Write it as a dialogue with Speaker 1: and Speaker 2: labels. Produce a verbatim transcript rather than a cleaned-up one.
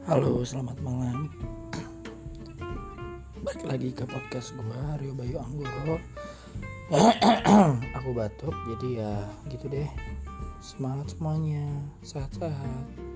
Speaker 1: Halo, selamat malam. Balik lagi ke podcast gue, Rio Bayu Anggoro. Aku batuk, jadi ya gitu deh. Semangat semuanya, sehat-sehat.